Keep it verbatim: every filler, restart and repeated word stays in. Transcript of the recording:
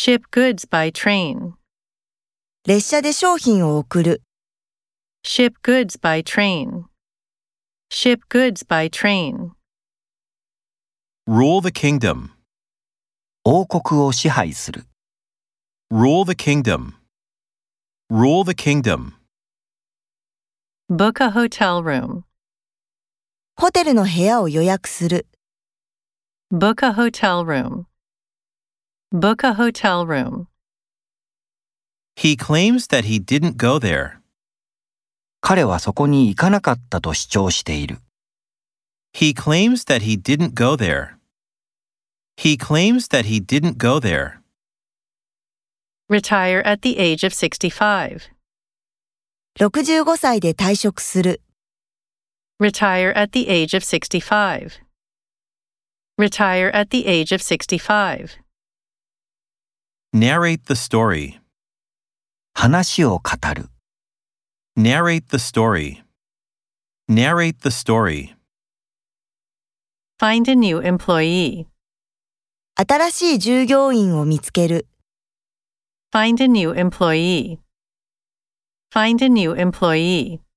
Ship goods by train. 列車で商品を送る。 Ship goods by train. Ship goods by train. Rule the kingdom. 王国を支配する。 Rule the kingdom. Rule the kingdom. Book a hotel room. ホテルの部屋を予約する。 Book a hotel room. Book a hotel room. He claims that he didn't go there. 彼はそこに行かなかったと主張している。 He claims that he didn't go there. He claims that he didn't go there. Retire at the age of sixty-five. ろくじゅうごさいで退職する。 Retire at the age of sixty-five. Retire at the age of sixty-five. Narrate the story. 話を語る。 Narrate the story. Narrate the story. Find a new employee. 新しい従業員を見つける。 Find a new employee. Find a new employee.